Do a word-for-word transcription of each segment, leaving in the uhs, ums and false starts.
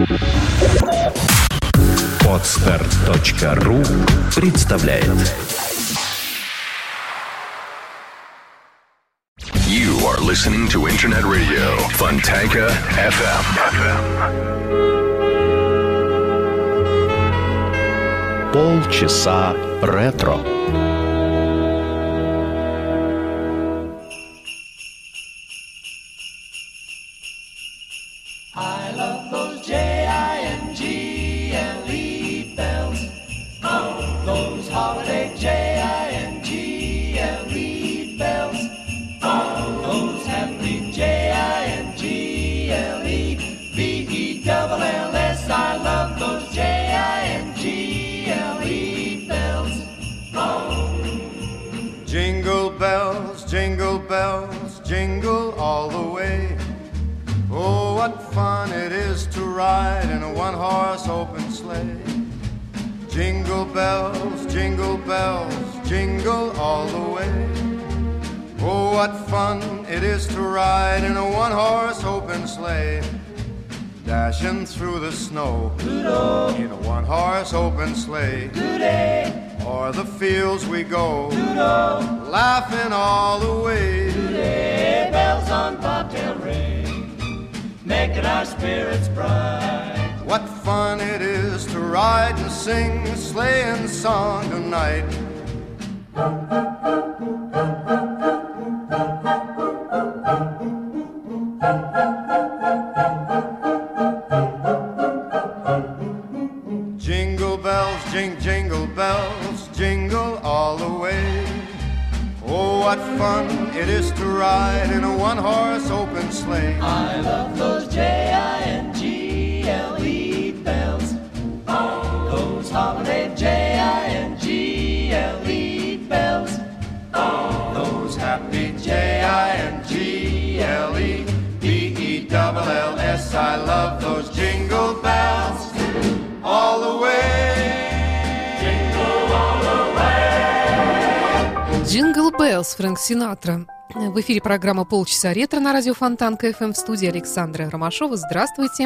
Podster.ру представляет. You are listening to Internet Radio Fontanka эф эм. Полчаса ретро. Jingle bells, jingle bells, jingle all the way. Oh, what fun it is to ride in a one-horse open sleigh. Jingle bells, jingle bells, jingle all the way. Oh, what fun it is to ride in a one-horse open sleigh. Dashing through the snow Doodle. In a one-horse open sleigh. Doodle. O'er the fields we go Doodle. Laughing all the way. Doodle. Bells on bobtail ring, making our spirits bright. What fun it is to ride and sing a sleighing song tonight. Jingle bells, jing, jingle bells, jingle all the way. Oh, what fun it is to ride in a one-horse open sleigh. I love those J I N G L E bells. Oh, those holiday J I N G L E bells. Oh, those happy J I N G L E B E L L S. I love those jingle bells all the way. Jingle all the way. Jingle Bells, Фрэнк Синатра. В эфире программа «Полчаса ретро» на радио Фонтанка эф эм, в студии Александра Ромашова. Здравствуйте.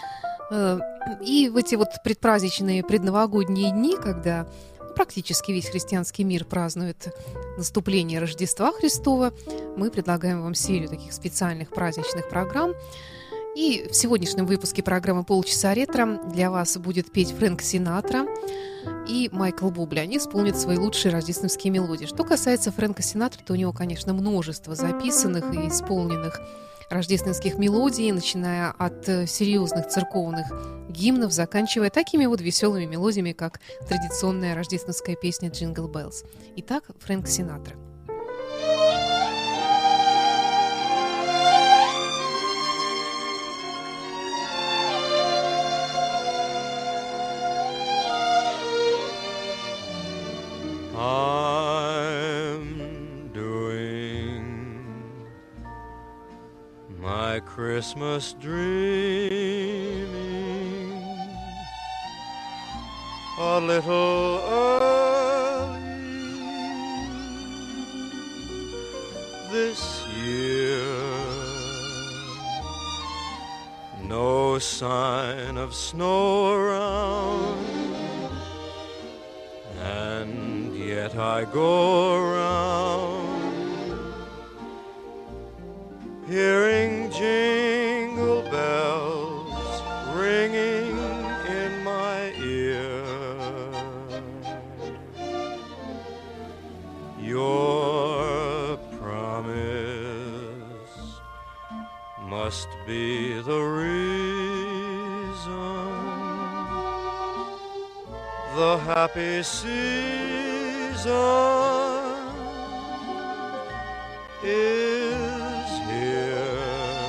И в эти вот предпраздничные предновогодние дни, когда практически весь христианский мир празднует наступление Рождества Христова, мы предлагаем вам серию таких специальных праздничных программ. И в сегодняшнем выпуске программы «Полчаса ретро» для вас будет петь Фрэнк Синатра и Майкл Бубли. Они исполнят свои лучшие рождественские мелодии. Что касается Фрэнка Синатры, то у него, конечно, множество записанных и исполненных рождественских мелодий, начиная от серьезных церковных гимнов, заканчивая такими вот веселыми мелодиями, как традиционная рождественская песня «Джингл Беллс». Итак, Фрэнк Синатра. I'm doing my Christmas dreaming a little early this year. No sign of snow around, and yet I go around hearing jingle bells ringing in my ear. Your promise must be the reason the happy season is here.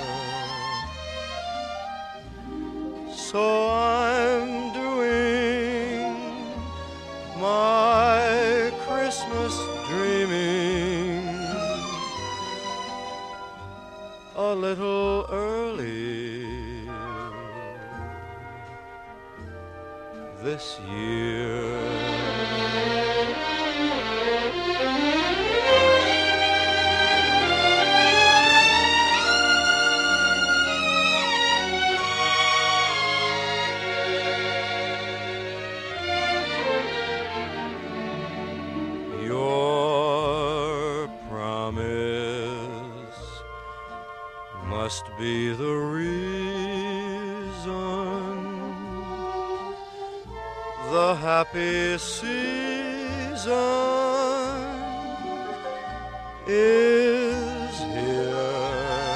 So I'm doing my Christmas dreaming a little early this year. must be the reason the happy season is here.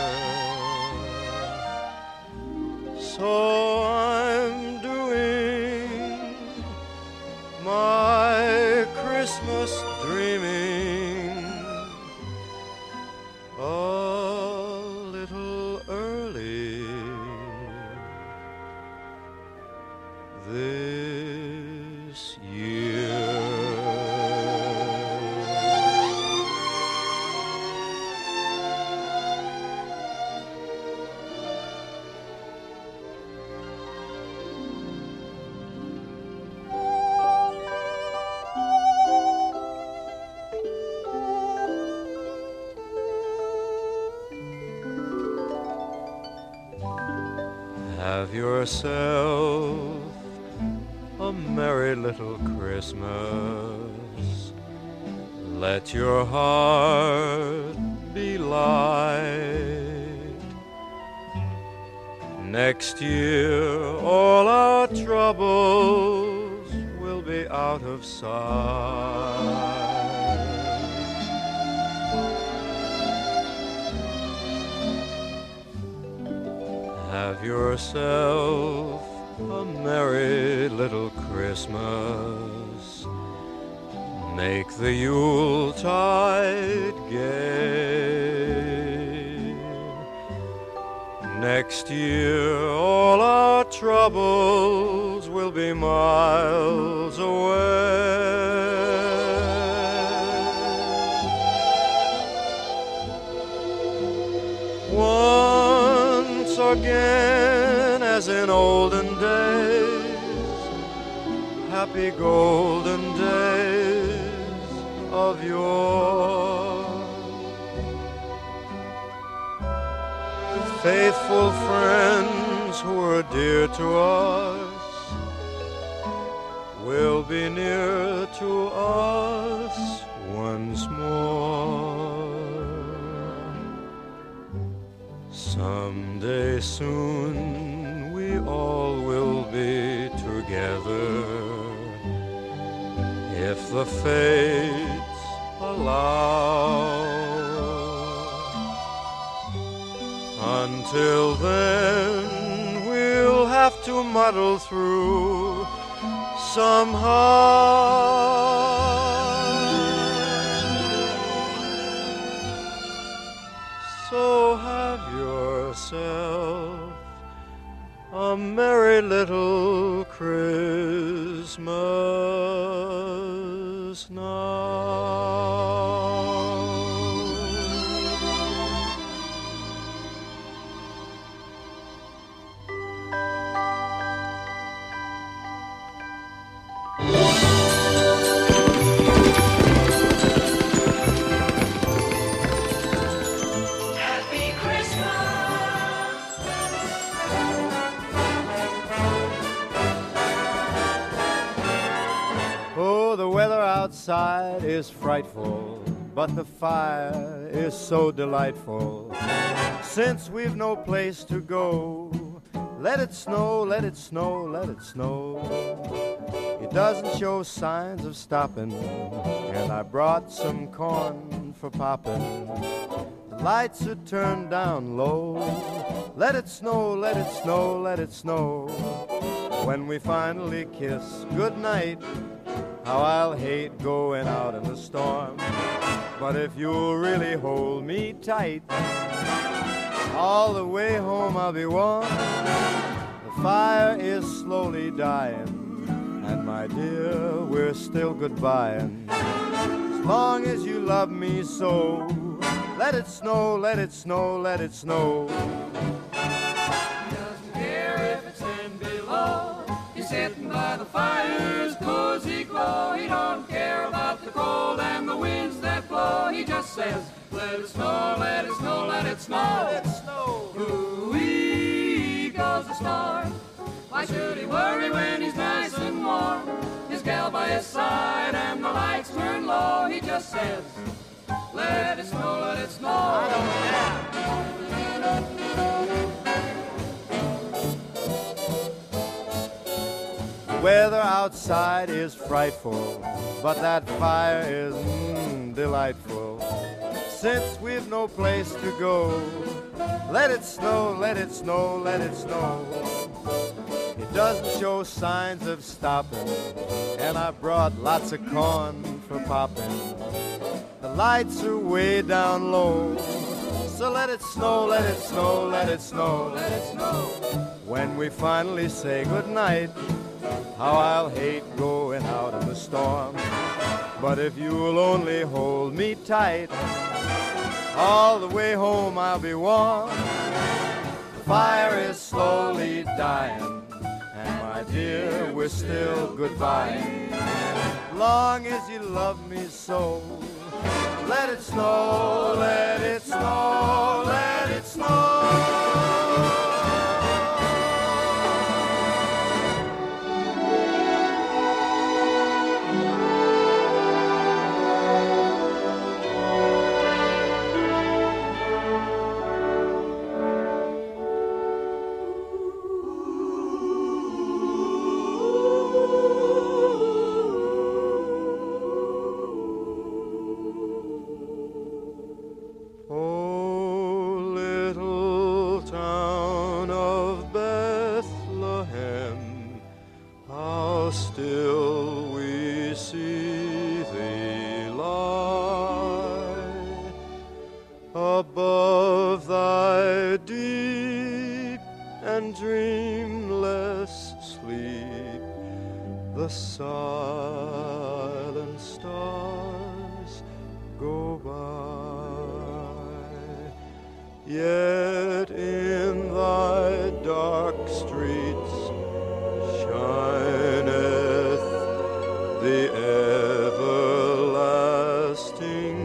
So I'm doing my Christmas dreaming a little early this year. Have yourself a merry little Christmas. Let your heart be light. Next year all our troubles will be out of sight. Have yourself a merry little Christmas. Make the Yuletide gay. Next year all our troubles will be miles away. Once again, as in olden days, happy golden days of yore. Faithful friends who were dear to us will be near to us once more. Someday soon we all will be together, if the fates allow. Until then we'll have to muddle through somehow. So have yourself a merry little Christmas now. Outside is frightful, but the fire is so delightful. Since we've no place to go, let it snow, let it snow, let it snow. It doesn't show signs of stopping, and I brought some corn for popping. The lights are turned down low. Let it snow, let it snow, let it snow. When we finally kiss goodnight, how I'll hate going out in the storm. But if you'll really hold me tight, all the way home I'll be warm. The fire is slowly dying, and my dear, we're still goodbying. As long as you love me so, let it snow, let it snow, let it snow. He doesn't care if it's ten below. He's sitting by the fire's cozy glow. He don't care about the cold and the winds that blow. He just says, let it snow, let it snow, let it snow. Let it snow. Ooh-wee goes the star. Why should he worry when he's nice and warm? His gal by his side and the lights turn low. He just says, let it snow, let it snow. I don't care. Weather outside is frightful, but that fire is mm, delightful. Since we've no place to go, let it snow, let it snow, let it snow. It doesn't show signs of stopping, and I brought lots of corn for popping. The lights are way down low, so let it snow, let it snow, let it snow, let it snow. When we finally say goodnight, how I'll hate going out in the storm. But if you'll only hold me tight, all the way home I'll be warm. The fire is slowly dying, and my dear, we're still goodbye. Long as you love me so, let it snow, let it snow, let it snow. Above thy deep and dreamless sleep, the silent stars go by. Yet in thy dark streets shineth the everlasting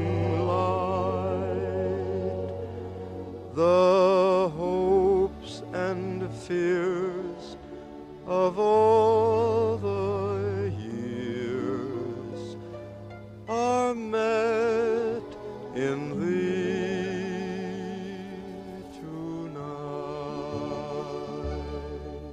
the hopes and fears of all the years are met in thee tonight.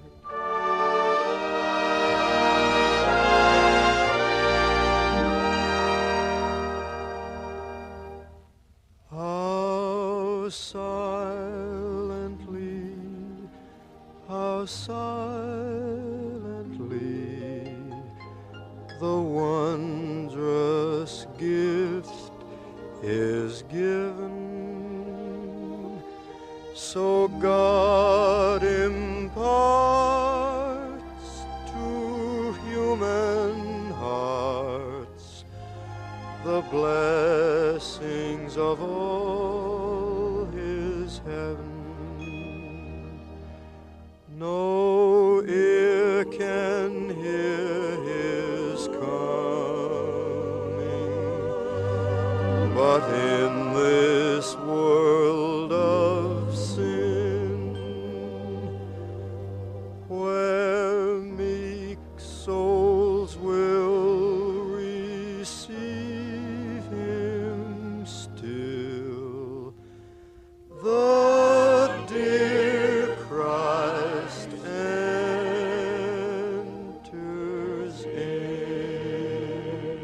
How silently, how silently the wondrous gift is given. So God imparts to human hearts the blessings of all his heaven. No ear can hear his coming, but in this world of sin, where meek souls will receive him still, the dear Christ enters in.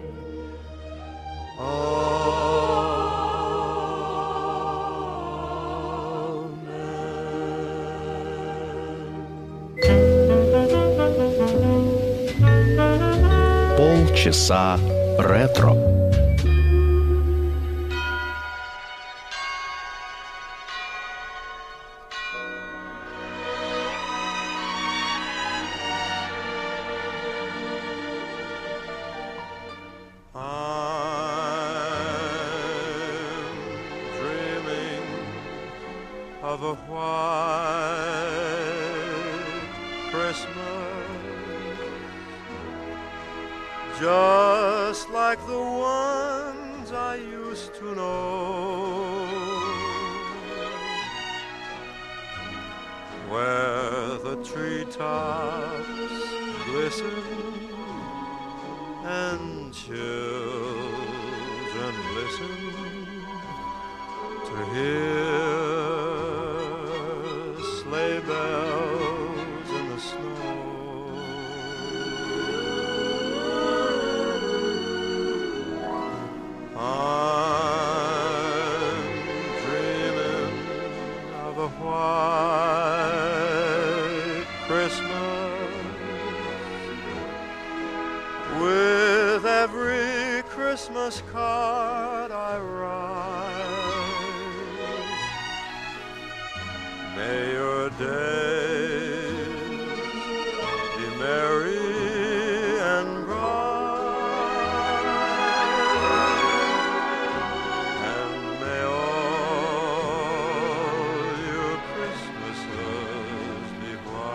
Amen. Полчаса ретро. Of a white Christmas, just like the ones I used to know, where the treetops glisten and children listen to hear sleigh bells in the snow. Christmas. With every Christmas card I write, may your days be merry and bright, and may all your Christmases be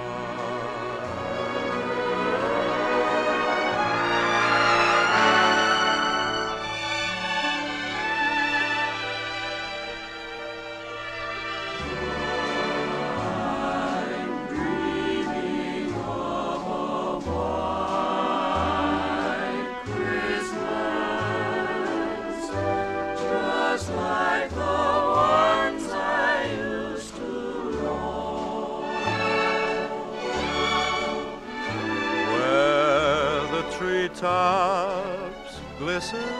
tops glisten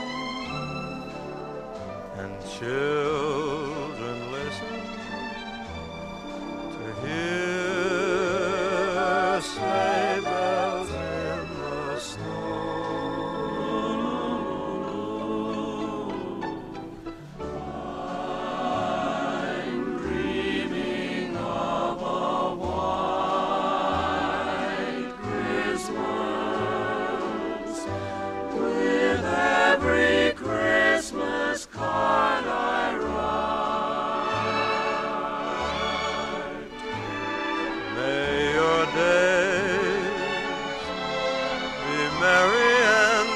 and children listen to hear sleigh bells in the snow. I'm dreaming of a white Christmas, with every Christmas card I write. May your days be merry and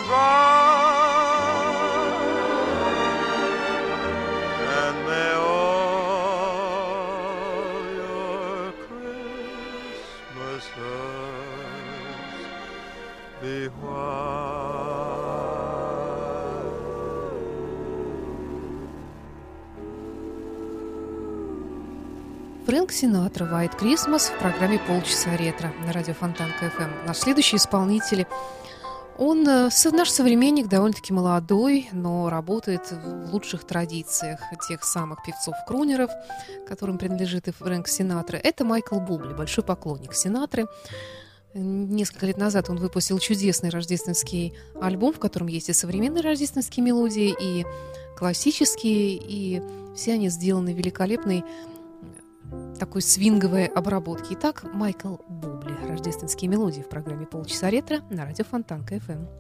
bright, and may all your Christmases be white. Фрэнк Синатра, White Christmas в программе «Полчаса ретро» на радио Фонтанка эф эм. Наш следующий исполнитель, он наш современник, довольно-таки молодой, но работает в лучших традициях тех самых певцов-крунеров, которым принадлежит и Фрэнк Синатра. Это Майкл Бубли, большой поклонник Синатры. Несколько лет назад он выпустил чудесный рождественский альбом, в котором есть и современные рождественские мелодии, и классические, и все они сделаны великолепной такой свинговой обработки. Итак, Майкл Бубли. Рождественские мелодии в программе «Полчаса ретро» на радио Фонтанка эф эм.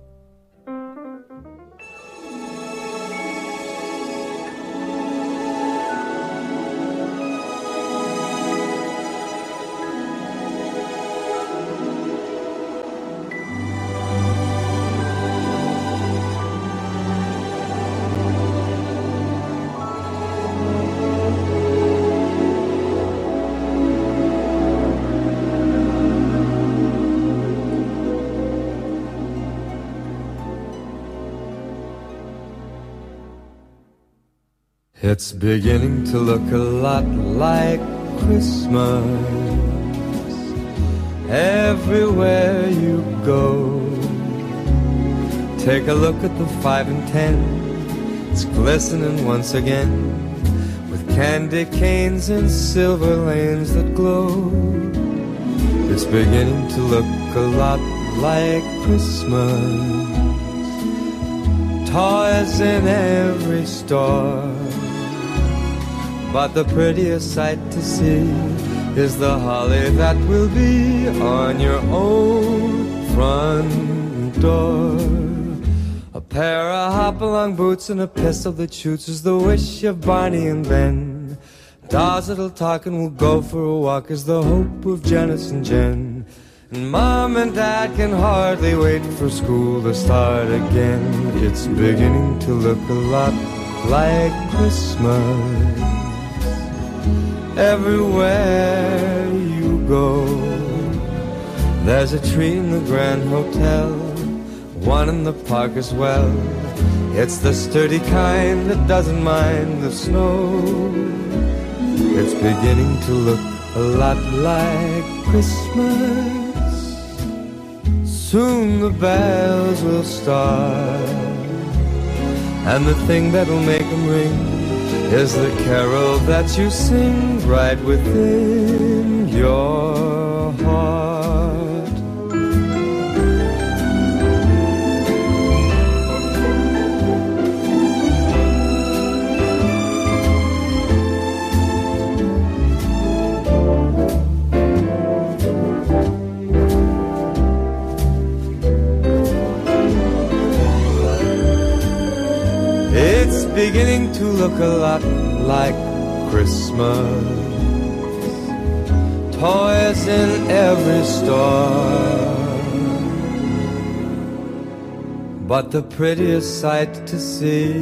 It's beginning to look a lot like Christmas everywhere you go. Take a look at the five and ten, it's glistening once again with candy canes and silver lanes that glow. It's beginning to look a lot like Christmas, toys in every store. But the prettiest sight to see is the holly that will be on your own front door. A pair of hop-along boots and a pistol that shoots is the wish of Barney and Ben. Dolls that'll talk and will go for a walk is the hope of Janice and Jen. And Mom and Dad can hardly wait for school to start again. It's beginning to look a lot like Christmas everywhere you go. There's a tree in the Grand Hotel, one in the park as well. It's the sturdy kind that doesn't mind the snow. It's beginning to look a lot like Christmas. Soon the bells will start, and the thing that'll make them ring is the carol that you sing right within your heart. beginning to look a lot like Christmas. Toys in every store, but the prettiest sight to see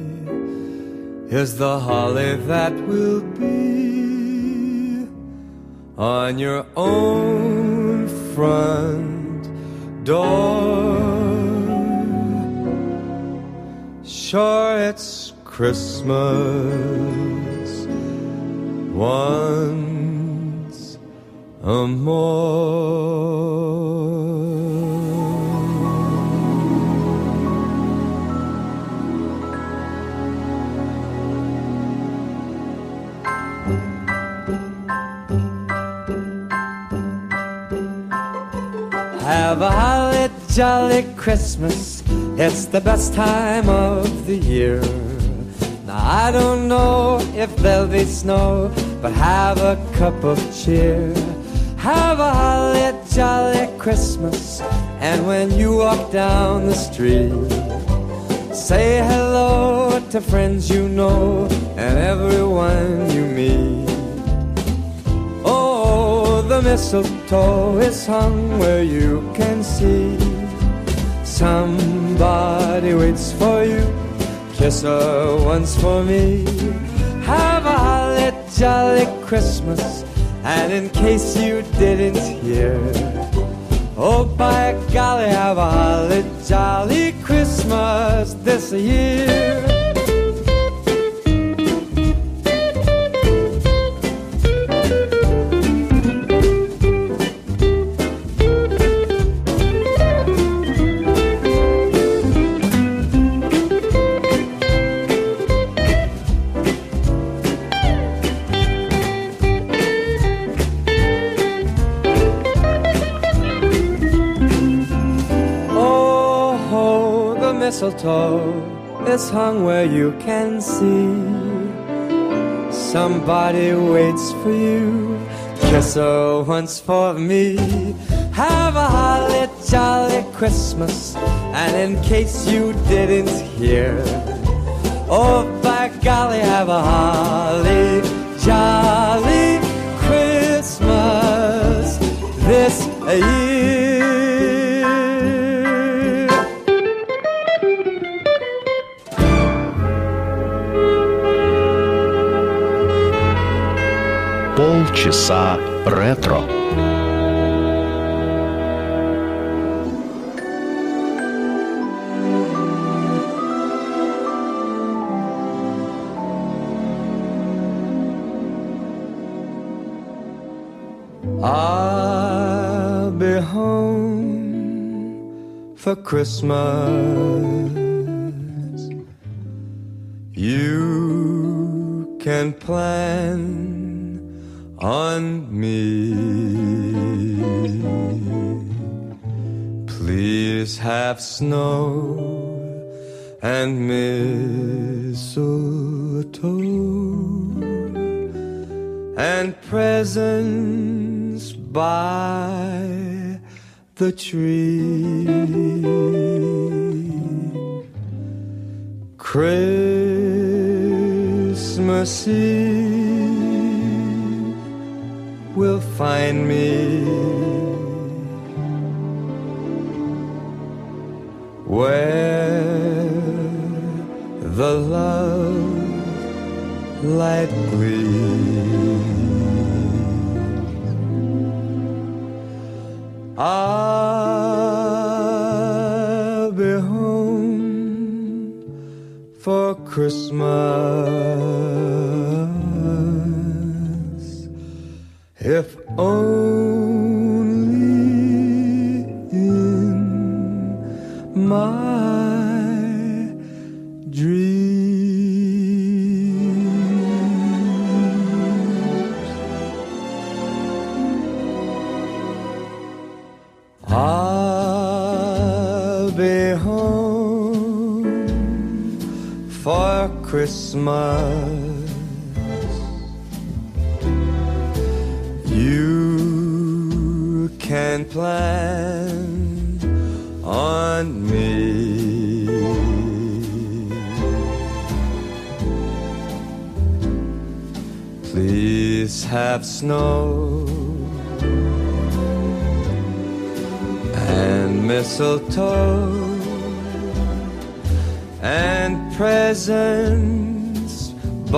is the holly that will be on your own front door. Sure, it's Christmas once a more. Have a holly jolly Christmas, it's the best time of the year. Now I don't know if there'll be snow, but have a cup of cheer. Have a holly jolly Christmas, and when you walk down the street, say hello to friends you know and everyone you meet. Oh, the mistletoe is hung where you can see. Somebody waits for you, kiss her once for me. Have a holly jolly Christmas, and in case you didn't hear, oh by golly, have a holly jolly Christmas this year. Mistletoe is hung where you can see. Somebody waits for you, kiss her once for me. Have a holly jolly Christmas, and in case you didn't hear, oh by golly, have a holly jolly Christmas this year. Полчаса ретро. I'll be home for Christmas. You can plan on me. Please have snow and mistletoe and presents by the tree. Christmas Eve will find me where the love light gleams. I'll be home for Christmas, if only in my dreams. I'll be home for Christmas. You can plan on me. please have snow and mistletoe and presents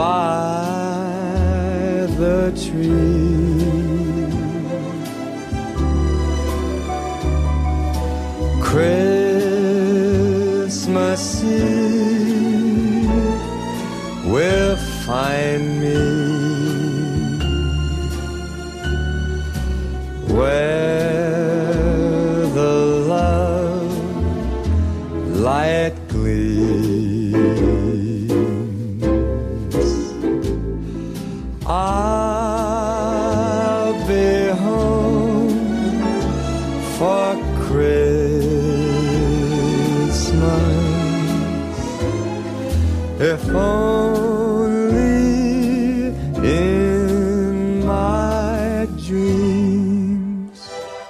by the tree. Christmas Eve will find me where the love light gleams. I'll be home for Christmas, if only in my dreams.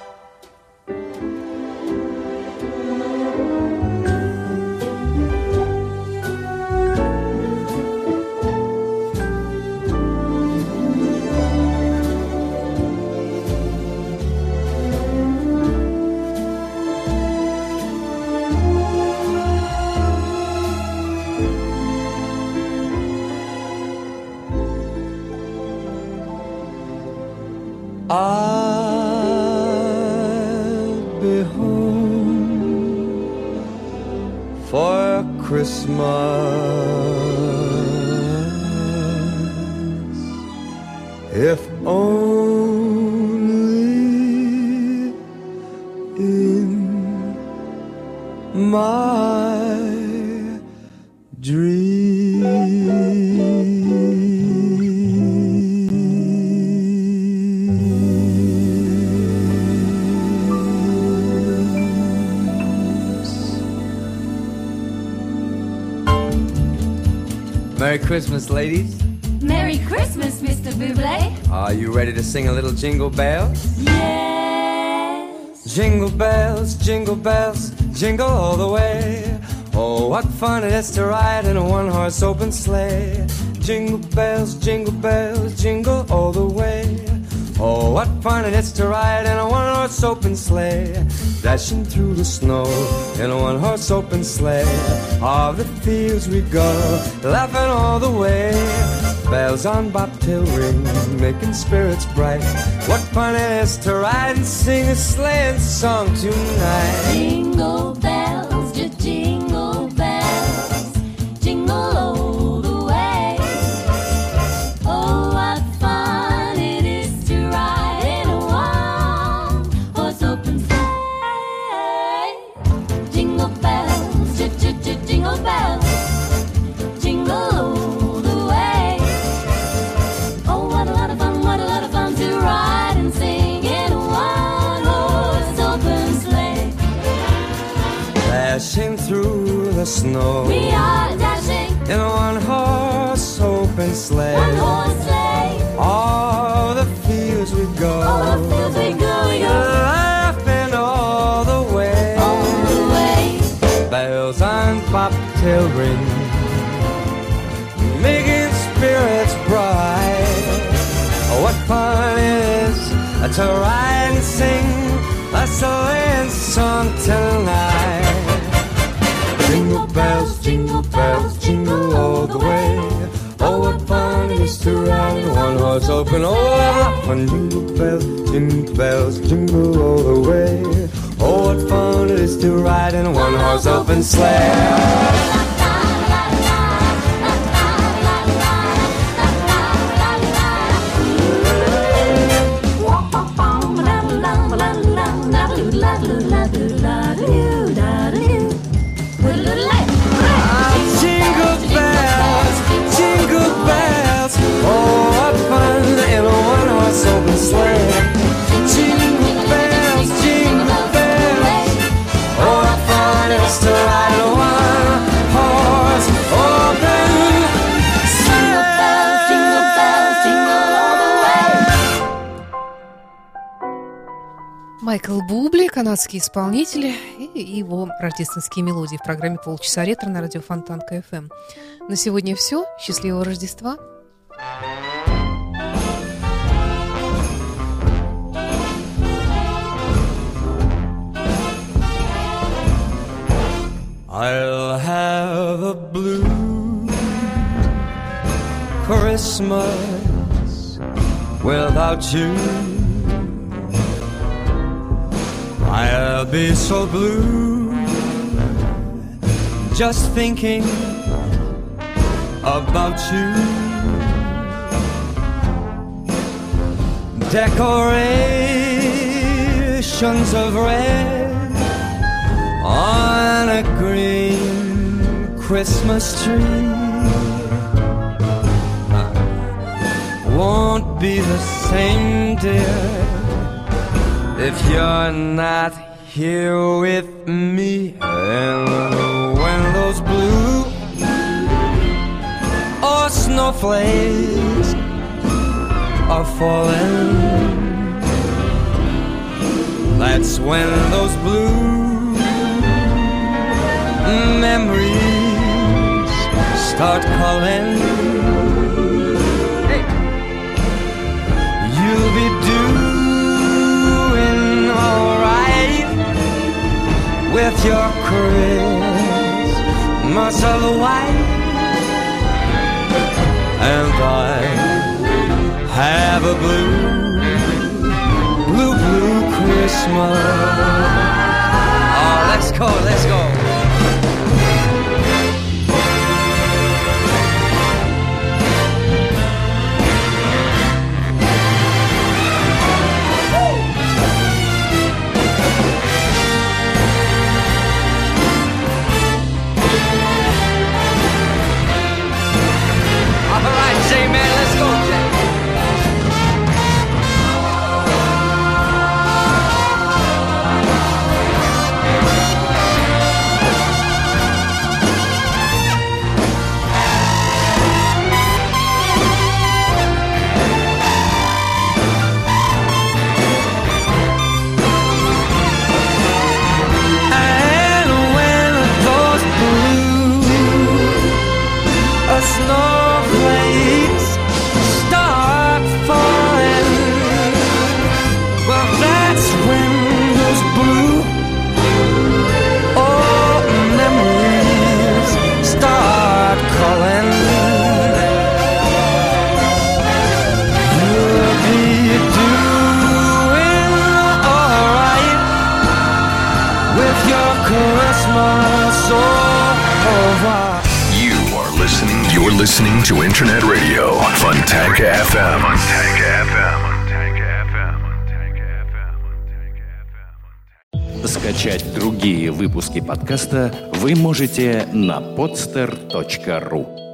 I'll be home for Christmas, if only in my Merry Christmas, ladies. Merry Christmas, Mister Bublé. Are you ready to sing a little Jingle Bells? Yes. Jingle bells, jingle bells, jingle all the way. Oh, what fun it is to ride in a one-horse open sleigh. Jingle bells, jingle bells, jingle all the way. Oh, what fun it is to ride in a one-horse open sleigh. Dashing through the snow in a one-horse open sleigh. All the fields we go, laughing all the way. Bells on bobtail ring, making spirits bright. What fun it is to ride and sing a sleighing song tonight. Jingle bells, just jingle bells, jingle all the way. Oh, what fun it is to ride in a one-horse open sleigh. Jingle bells, just, just, just jingle bells, jingle all the way. Oh, what a lot of fun, what a lot of fun to ride and sing in a one-horse open sleigh. Dashing through the snow, We are dashing in a one-horse open sleigh. one horse sleigh. All the fields we go, All the fields we go, we go laughing all the way. all the way. Bells on bobtail ring, making spirits bright. Oh, what fun it is to ride and sing a sleighing song tonight. Jingle bells, jingle bells, jingle all the way. Oh, what fun it is to ride in a one-horse open. Oh, what fun! Jingle bells, jingle bells, jingle all the way. Oh, what fun it is to ride in a one-horse open sleigh. Jingle bells, jingle bells, oh, what fun in a one-horse open sleigh. Jingle bells, jingle bells, oh, what fun it is to ride in a one-horse open Jingle bells, jingle bells, jingle all the way. Майкл Бубли, канадский исполнитель, и его рождественские мелодии в программе «Полчаса ретро» на радио Фонтанка эф эм. На сегодня все. Счастливого Рождества! I'll have a blue Christmas without you. I'll be so blue just thinking about you. Decorations of red on a green Christmas tree won't be the same, dear, if you're not here with me. And when those blue or snowflakes are falling, that's when those blue memories start calling. Hey. You'll be doing alright with your Christmas of white, and I have a blue, blue, blue Christmas. Oh, let's go, let's go. All right, J-Man, let's go, Jack. Snowflakes start falling, well, that's when those blue old memories start calling. You'll be doing alright with your Christmas over. You're listening to Internet Radio, Fontanka эф эм. Fontanka эф эм. Скачать другие выпуски подкаста вы можете на podster точка ру.